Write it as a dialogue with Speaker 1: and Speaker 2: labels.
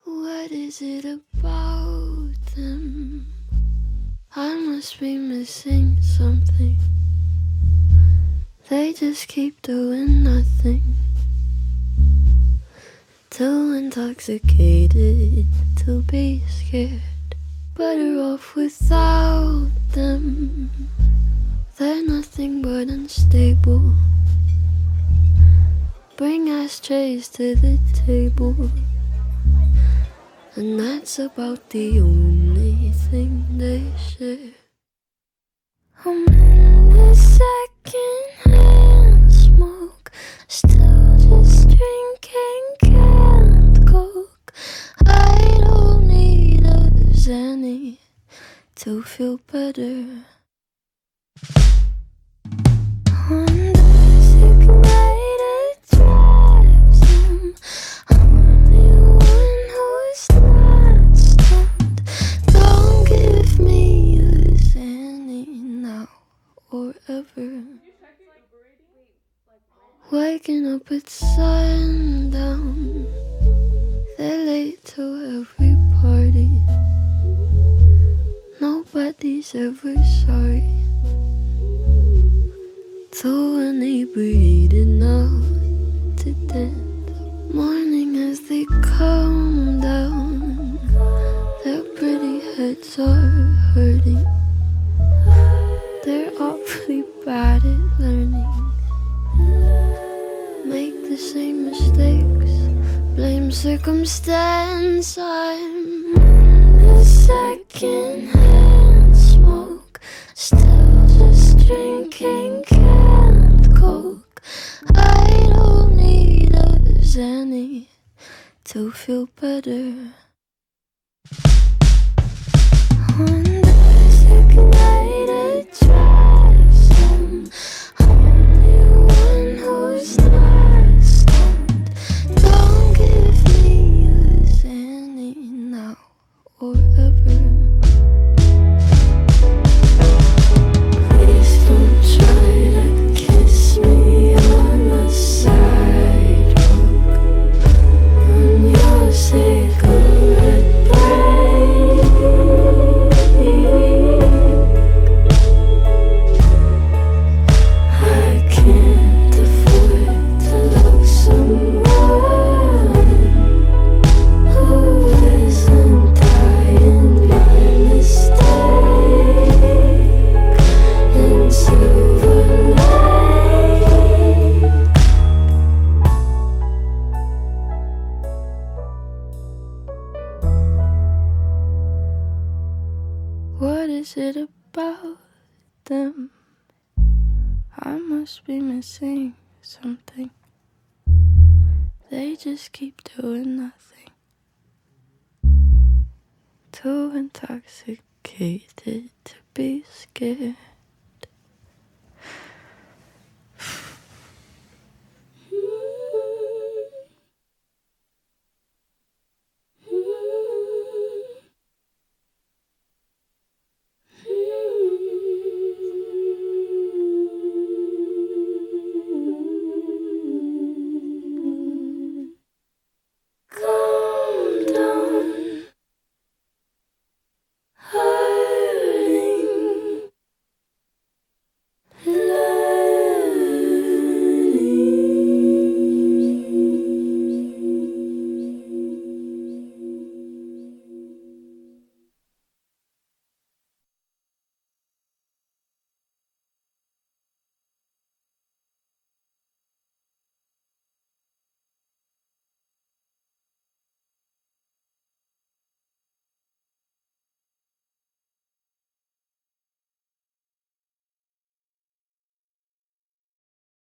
Speaker 1: What is it about them? I must be missing something. They just keep doing nothing. Too intoxicated to be scared. Better off without them. They're nothing but unstable. Bring ashtrays to the table, and that's about the only thing they share. I'm in the second-hand smoke, still just drinking canned Coke. I don't need a Xanny to feel better. On designated drives, I'm the one who's not stunned. Don't give me a Xanny now or ever. Waking up at sundown, they're late to every party. Nobody's ever sorry. Too inebriated now to dance. Morning as they come down, their pretty heads are hurting. They're awfully bad at learning. Make the same mistakes, blame circumstance. I'm in the second-hand smoke, still just drinking canned Coke. I don't need a Xanny to feel better. On designated drives, I'm the one who's not stunned. Don't give me a Xanny now or ever. Please don't try to kiss me on the sidewalk on your cigarette break. I can't afford to love someone who isn't dying by mistake in Silver Lake. What is it about them? I must be missing something. They just keep doing nothing. Too intoxicated to be scared.